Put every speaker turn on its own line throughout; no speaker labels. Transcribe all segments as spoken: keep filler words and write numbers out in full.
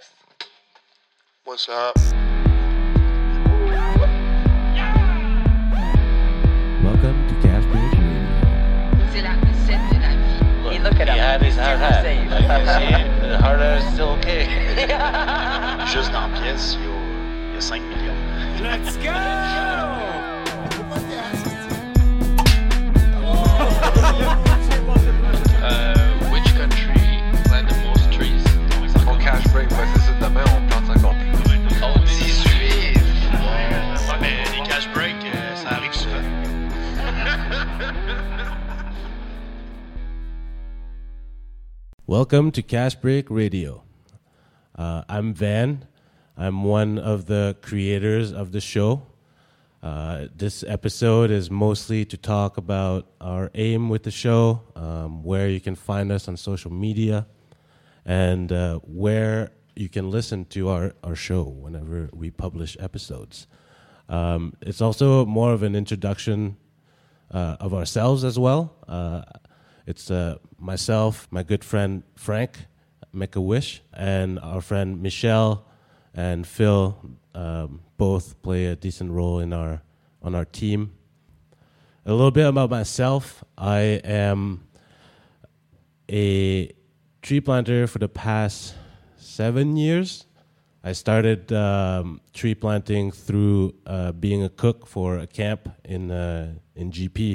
podcast.
What's up?
Welcome to Cash Break Radio.
C'est la recette de la vie.
Look,
Hey, look at
he
him.
had his
Still
hard
the
hat.
same.
Like you see, the hard hat is still okay.
Juste dans la pièce, il y a, il y a cinq millions.
Let's go!
Uh, which country plant the most trees?
Mon cash break va essayer de demain, on plante encore plus.
Oh, dix-huit! Ouais, mais les cash break, euh, ça arrive souvent.
Welcome to Cash Break Radio. Uh, I'm Van. I'm one of the creators of the show. Uh, this episode is mostly to talk about our aim with the show, um, where you can find us on social media, and uh, where you can listen to our, our show whenever we publish episodes. Um, it's also more of an introduction uh, of ourselves as well. Uh, it's uh, myself, my good friend Frank, Make-A-Wish, and our friend Michelle and Phil, um, both play a decent role in our on our team. A little bit about myself. I am a tree planter for the past seven years. I started um, tree planting through uh, being a cook for a camp in uh, in G P,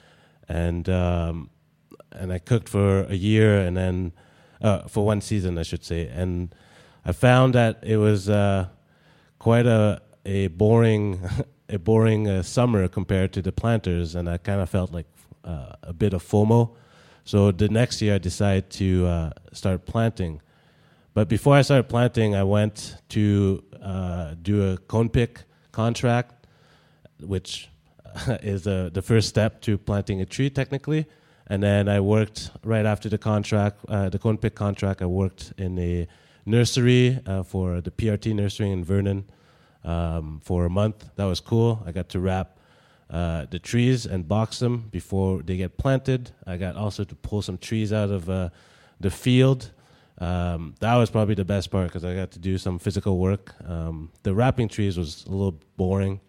and um, and I cooked for a year, and then uh, for one season, I should say, and I found that it was uh, quite a a boring a boring uh, summer compared to the planters, and I kind of felt like uh, a bit of FOMO. So the next year, I decided to uh, start planting. But before I started planting, I went to uh, do a cone pick contract, which is uh, the first step to planting a tree, technically. And then I worked right after the contract, uh, the cone pick contract. I worked in a nursery uh, for the P R T nursery in Vernon um, for a month. That was cool. I got to wrap uh, the trees and box them before they get planted. I got also to pull some trees out of uh, the field. Um, that was probably the best part because I got to do some physical work. Um, the wrapping trees was a little boring.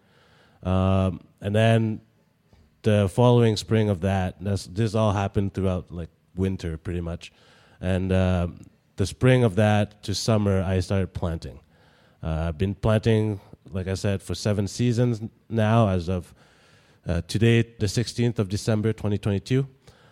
Um, and then the following spring of that, that's, this all happened throughout like winter pretty much. And um, the spring of that to summer, I started planting. Uh, I've been planting, like I said, for seven seasons now as of uh, today, the sixteenth of December, twenty twenty-two.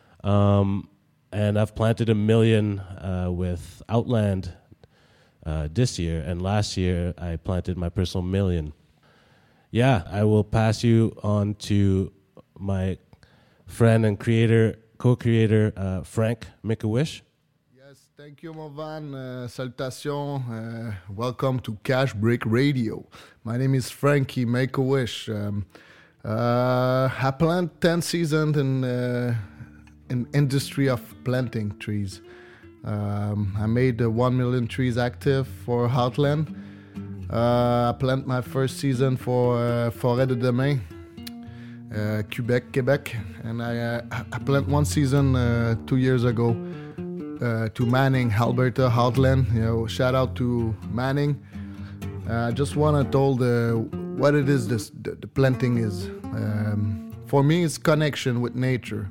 Um, and I've planted a million uh, with Outland uh, this year. And last year, I planted my personal million. Yeah, I will pass you on to my friend and creator, co-creator, uh, Frank Make-A-Wish.
Yes, thank you, Movan. Uh, salutations. Uh, welcome to Cash Break Radio. My name is Frankie Make-A-Wish. Um, uh, I plant ten seasons in uh, in industry of planting trees. Um, I made uh, one million trees active for Heartland. Uh, I plant my first season for uh, Forêt de Demain, uh, Quebec, Quebec, and I uh, I plant one season uh, two years ago uh, to Manning, Alberta, Heartland. You know, shout out to Manning. I uh, just want to tell the what it is. This the, the planting is um, for me. It's connection with nature.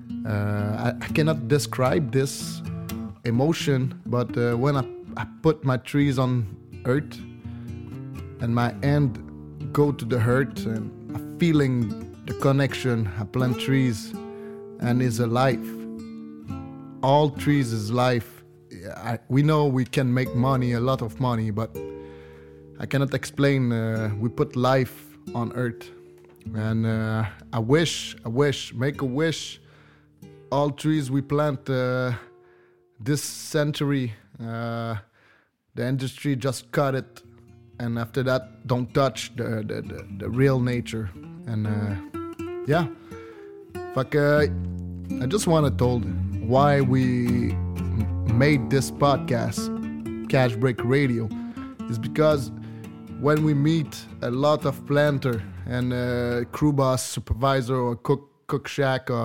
Uh, I, I cannot describe this emotion, but uh, when I, I put my trees on earth and my hand go to the earth and I'm feeling the connection, I plant trees and it's a life. All trees is life. I, we know we can make money, a lot of money, but I cannot explain. Uh, we put life on earth, and uh, I wish, I wish, make a wish. All trees we plant uh, this century, uh, the industry just cut it, and after that, don't touch the the, the, the real nature. And uh, yeah, fuck. Uh, I just want to tell why we m- made this podcast, Cash Break Radio, is because when we meet a lot of planter and uh, crew boss, supervisor, or cook cook shack or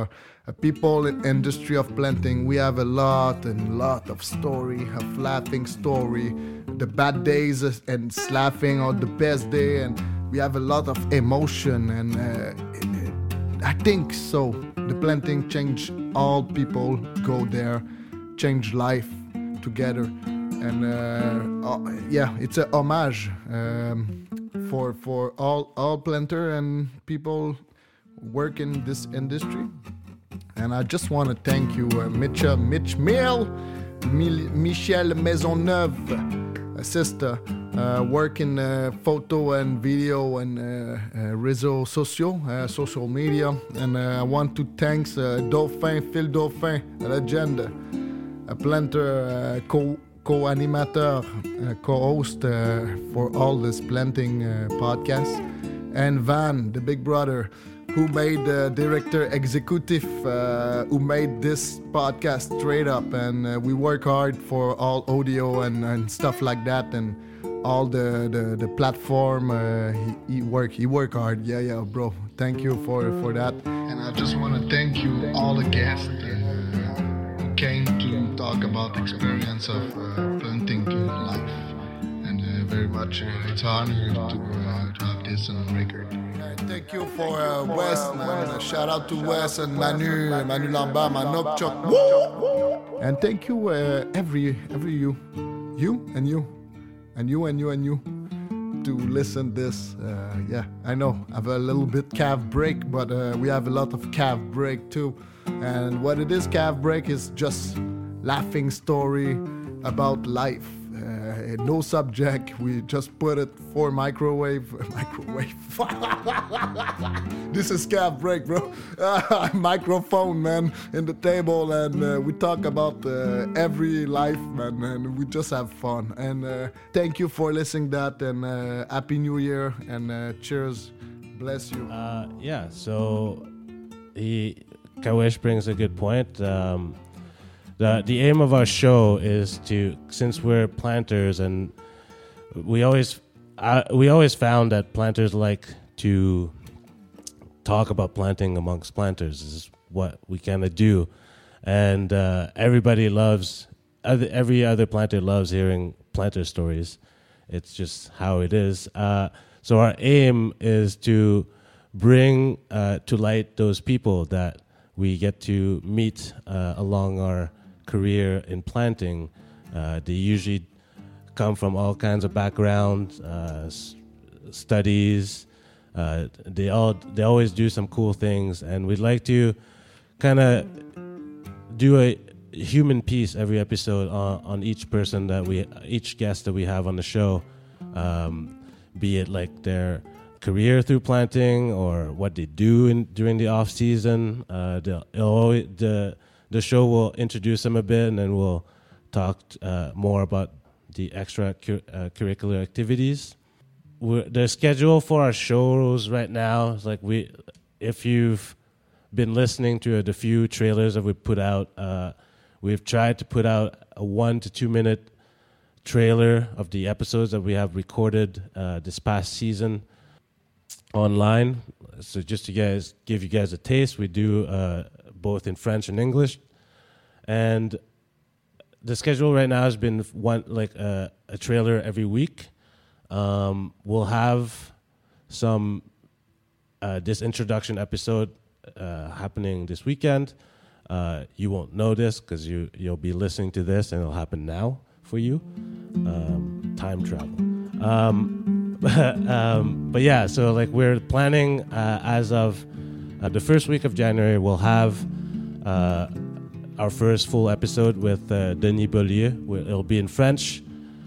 uh, people in industry of planting, we have a lot and lot of story, of laughing story, the bad days and laughing, or the best day, and we have a lot of emotion, and uh, it, it, I think so. The planting change all people go there, change life together, and uh, uh, yeah, it's a homage um, for for all all planter and people work in this industry. And I just want to thank you, uh, Mitch, uh, Mitch Mill, Mil- Michel Maisonneuve, a sister, uh, work in uh, photo and video and uh, uh, réseaux sociaux, uh, social media. And uh, I want to thank uh, Dauphin, Phil Dauphin, a legend, a planter, uh, co- co-animateur, uh, co-host uh, for all this planting uh, podcasts. And Van, the big brother, who made the uh, director executive, uh, who made this podcast straight up, and uh, we work hard for all audio and, and stuff like that, and all the the, the platform. Uh, he, he work he work hard. Yeah, yeah, bro. Thank you for for that. And I just want to thank you all the guests uh, who came to talk about experience of uh, planting life, and uh, very much uh, it's an honor to, uh, to have this on record. Thank you for uh, Wes, man. Uh, shout out to Wes and Manu, Manu Lambert, Manok Chok. And thank you, uh, every every you, you and you, and you and you and you, to listen this. Uh, yeah, I know I have a little bit calf break, but uh, we have a lot of calf break too. And what it is, calf break is just laughing story about life. Uh, no subject, we just put it for microwave. Microwave. This is calf break, bro. Uh, microphone, man, in the table, and uh, we talk about uh, every life, man, and we just have fun. And uh, thank you for listening that, and uh, Happy New Year, and uh, cheers. Bless you.
Uh, yeah, so he, Kawesh brings a good point. Um, The the aim of our show is to, since we're planters, and we always uh, we always found that planters like to talk about planting amongst planters. This is what we kind of do, and uh, everybody loves other, every other planter loves hearing planter stories. It's just how it is. Uh, so our aim is to bring uh, to light those people that we get to meet uh, along our career in planting. Uh, they usually come from all kinds of backgrounds, uh, s- studies. Uh, they all they always do some cool things, and we'd like to kind of do a human piece every episode on, on each person that we, each guest that we have on the show, um, be it like their career through planting or what they do in during the off season. Uh, they'll, it'll always, the The show will introduce them a bit, and then we'll talk uh, more about the extra cur- uh, curricular activities. We're, the schedule for our shows right now is like we, if you've been listening to uh, the few trailers that we put out, uh, we've tried to put out a one to two minute trailer of the episodes that we have recorded uh, this past season online. So just to guys give you guys a taste, we do. Uh, both in French and English, and the schedule right now has been one like uh, a trailer every week. Um, we'll have some uh, this introduction episode uh, happening this weekend. Uh, you won't know this because you you'll be listening to this, and it'll happen now for you. Um, time travel. Um, um, but yeah, so like we're planning uh, as of. Uh, the first week of January, we'll have uh, our first full episode with uh, Denis Beaulieu. It'll be in French.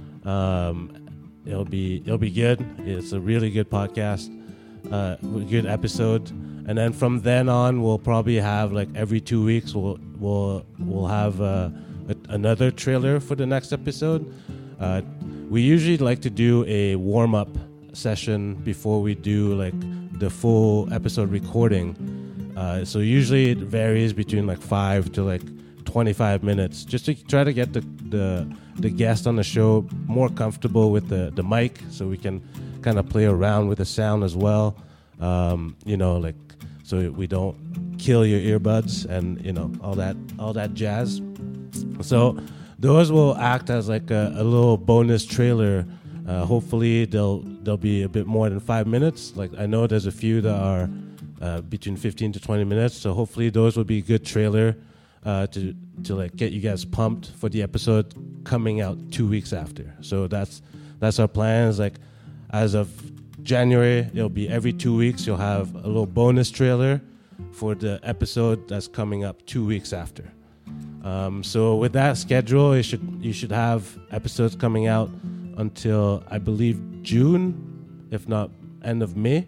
Um, it'll be it'll be good. It's a really good podcast, uh, good episode. And then from then on, we'll probably have like every two weeks we'll we'll we'll have uh, a, another trailer for the next episode. Uh, we usually like to do a warm up session before we do like the full episode recording. Uh, so usually it varies between like five to like twenty-five minutes, just to try to get the the, the guest on the show more comfortable with the, the mic, so we can kind of play around with the sound as well. Um, you know, like so we don't kill your earbuds and you know all that all that jazz. So those will act as like a, a little bonus trailer. Uh, hopefully they'll they'll be a bit more than five minutes. Like I know there's a few that are uh, between fifteen to twenty minutes. So hopefully those will be a good trailer uh, to to like get you guys pumped for the episode coming out two weeks after. So that's that's our plan. Is like as of January, it'll be every two weeks. You'll have a little bonus trailer for the episode that's coming up two weeks after. Um, so with that schedule, you should you should have episodes coming out until I believe June, if not end of May.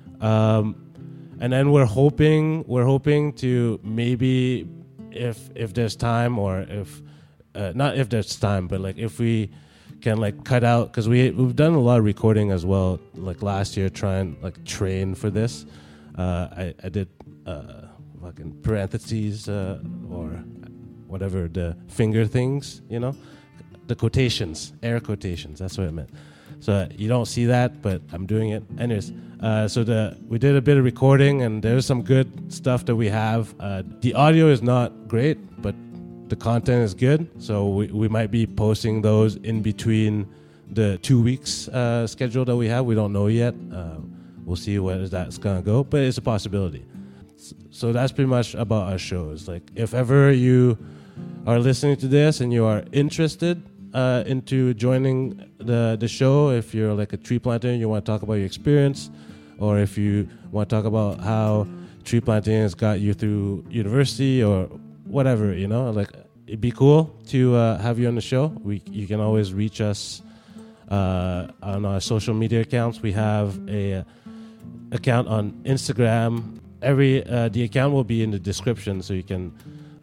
Um, and then we're hoping we're hoping to maybe if if there's time or if uh, not if there's time, but like if we can like cut out, because we we've done a lot of recording as well. Like last year, trying like train for this. Uh, I I did uh, fucking parentheses uh, or whatever the finger things, you know, the quotations, air quotations. That's what I meant. So uh, you don't see that, but I'm doing it anyways. Uh, so the we did a bit of recording, and there's some good stuff that we have. Uh, the audio is not great, but the content is good. So we, we might be posting those in between the two weeks uh, schedule that we have. We don't know yet. Uh, we'll see where that's gonna go, but it's a possibility. So that's pretty much about our shows. Like if ever you are listening to this and you are interested uh, into joining the the show, if you're like a tree planter and you want to talk about your experience, or if you want to talk about how tree planting has got you through university or whatever, you know, like it'd be cool to uh, have you on the show. We you can always reach us uh, on our social media accounts. We have a uh, account on Instagram. Every uh, the account will be in the description, so you can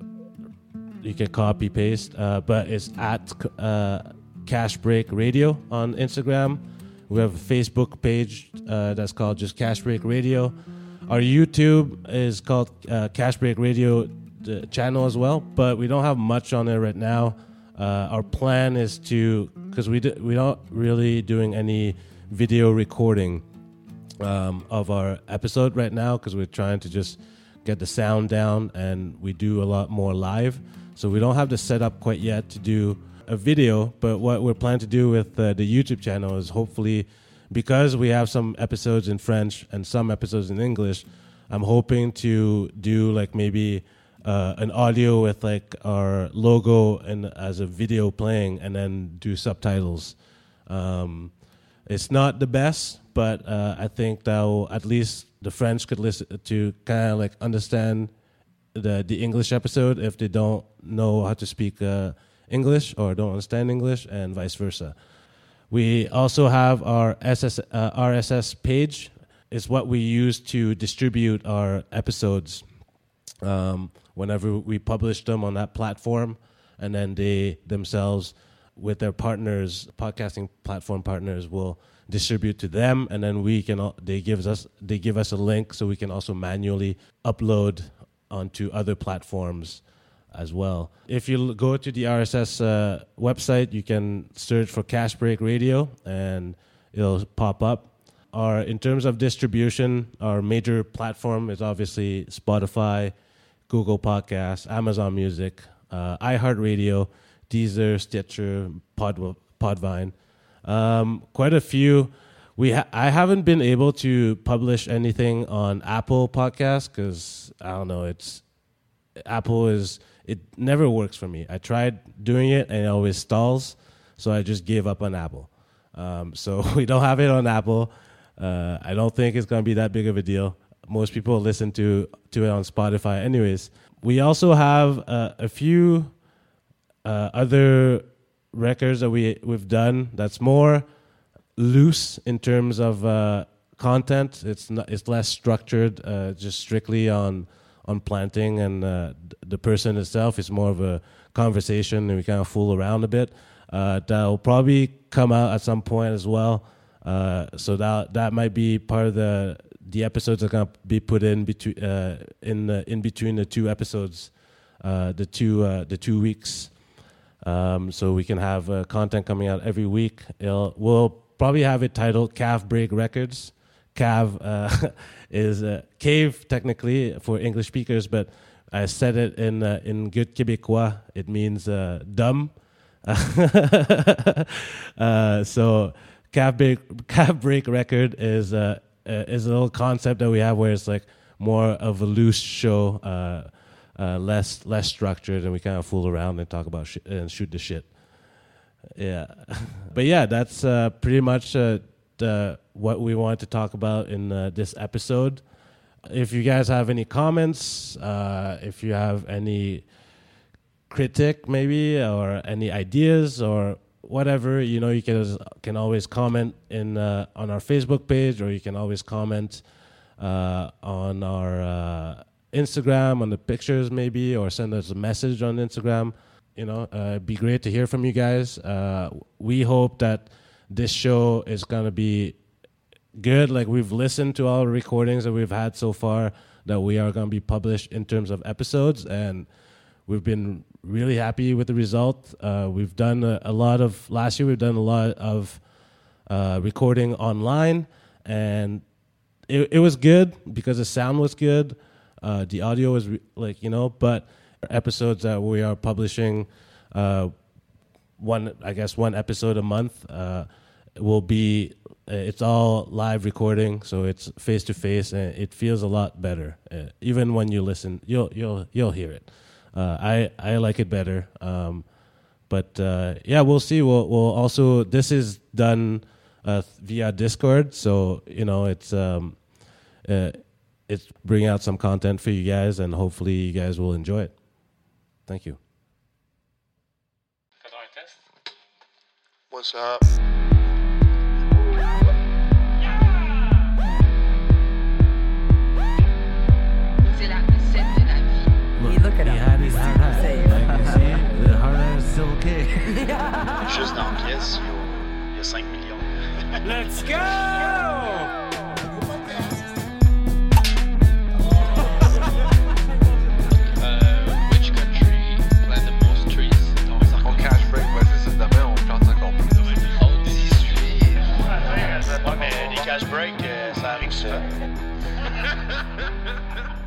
you can copy paste. Uh, but it's at uh, Cash Break Radio on Instagram. We have a Facebook page uh, that's called just Cash Break Radio. Our YouTube is called uh, Cash Break Radio the channel as well, but we don't have much on there right now. Uh, our plan is to, because we do, we not really doing any video recording um, of our episode right now, because we're trying to just get the sound down, and we do a lot more live. So we don't have the setup quite yet to do a video, but what we're planning to do with uh, the YouTube channel is hopefully, because we have some episodes in French and some episodes in English, I'm hoping to do like maybe uh, an audio with like our logo and as a video playing, and then do subtitles. Um, it's not the best, but uh, I think that will, at least the French could listen to kind of like understand the the English episode if they don't know how to speak uh, English or don't understand English, and vice versa. We also have our S S, uh, R S S page. It's what we use to distribute our episodes um, whenever we publish them on that platform, and then they themselves, with their partners, podcasting platform partners, will distribute to them, and then we can. They give us they give us a link so we can also manually upload onto other platforms as well. If you go to the R S S uh, website, you can search for Cash Break Radio, and it'll pop up. Our in terms of distribution, our major platform is obviously Spotify, Google Podcasts, Amazon Music, uh, iHeartRadio, Deezer, Stitcher, Pod, Podvine. Um, quite a few. We ha- I haven't been able to publish anything on Apple Podcasts because I don't know. It's Apple is it never works for me. I tried doing it and it always stalls, so I just gave up on Apple. Um, so we don't have it on Apple. Uh, I don't think it's going to be that big of a deal. Most people listen to to it on Spotify, anyways. We also have uh, a few uh, other records that we we've done that's more loose in terms of uh, content. It's not, it's less structured, uh, just strictly on on planting and uh, the person itself. It's more of a conversation, and we kind of fool around a bit. Uh, that'll probably come out at some point as well. Uh, so that that might be part of the the episodes that are gonna be put in between uh, in the, in between the two episodes, uh, the two uh, the two weeks. Um, so we can have uh, content coming out every week. It'll, we'll probably have it titled Calf Break Records, Cav uh, is uh, cave technically for English speakers, but I said it in uh, in good Québécois. It means uh, dumb. uh, so Cav break, Cav break record is uh, uh, is a little concept that we have where it's like more of a loose show, uh, uh, less less structured, and we kind of fool around and talk about shit and shoot the shit. Yeah, but yeah, that's uh, pretty much uh, the, what we wanted to talk about in uh, this episode. If you guys have any comments, uh, if you have any critic maybe, or any ideas or whatever, you know, you can can always comment in uh, on our Facebook page, or you can always comment uh, on our uh, Instagram, on the pictures maybe, or send us a message on Instagram. You know, uh, it'd be great to hear from you guys. Uh, we hope that this show is going to be good. Like, we've listened to all the recordings that we've had so far that we are going to be published in terms of episodes, and we've been really happy with the result. Uh, we've done a, a lot of, last year we've done a lot of uh, recording online, and it, it was good because the sound was good. Uh, the audio was re- like, you know, but episodes that we are publishing, uh, one, I guess one episode a month, uh, will be, it's all live recording, so it's face to face, and it feels a lot better. Uh, even when you listen, you'll you'll you'll hear it. Uh, I I like it better. Um, but uh, yeah, we'll see. We'll we'll also, this is done uh, via Discord, so you know it's um, uh, it's bringing out some content for you guys, and hopefully you guys will enjoy it. Thank you.
What's up?
C'est la recette de la vie.
Look, look at he had his hard hat. Like, you see, the hard hat is still okay.
Juste dans la pièce, il y a, il y a cinq millions.
Let's go! Which country plant the most trees?
On cash break, ouais, c'est ça. Demain, on plante encore plus.
Oh, dix-huit.
Ouais, mais les cash breaks, euh, ça arrive souvent.